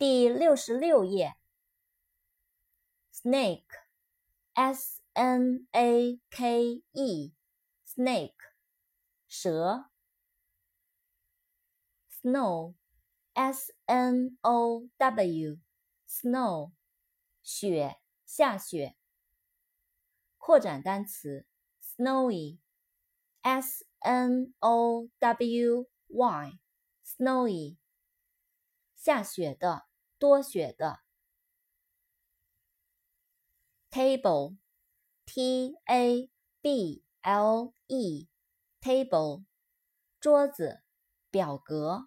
第66页 snake S-N-A-K-E snake 蛇 snow S-N-O-W snow 雪下雪扩展单词 snowy S-N-O-W-Y snowy 下雪的多雪的 table T-A-B-L-E table 桌子表格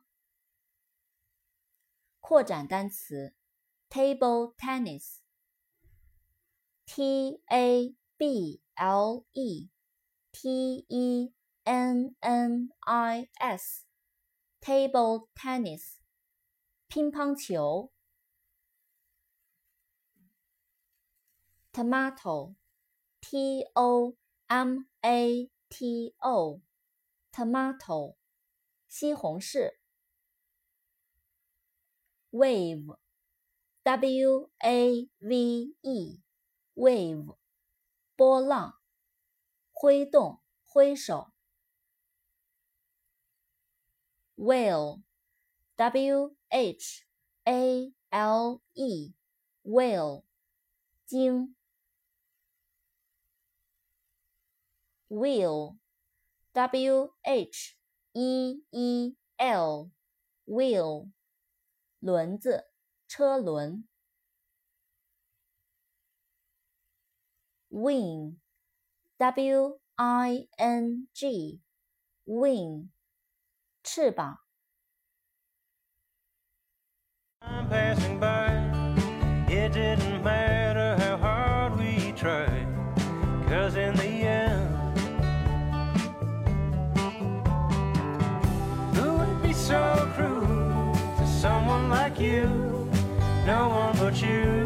扩展单词 table tennis T-A-B-L-E T-E-N-N-I-S table tennis 乒乓球 tomato T-O-M-A-T-O tomato 西红柿 wave W-A-V-E wave 波浪挥动挥手 whale W-H-A-L-E whale 鲸 wheel W-H-E-E-L wheel 轮子车轮 wing W-I-N-G wing 翅膀 I'm passing by. It didn't matter how hard we tried, 'cause in the end, who would be so cruel to someone like you? No one but you.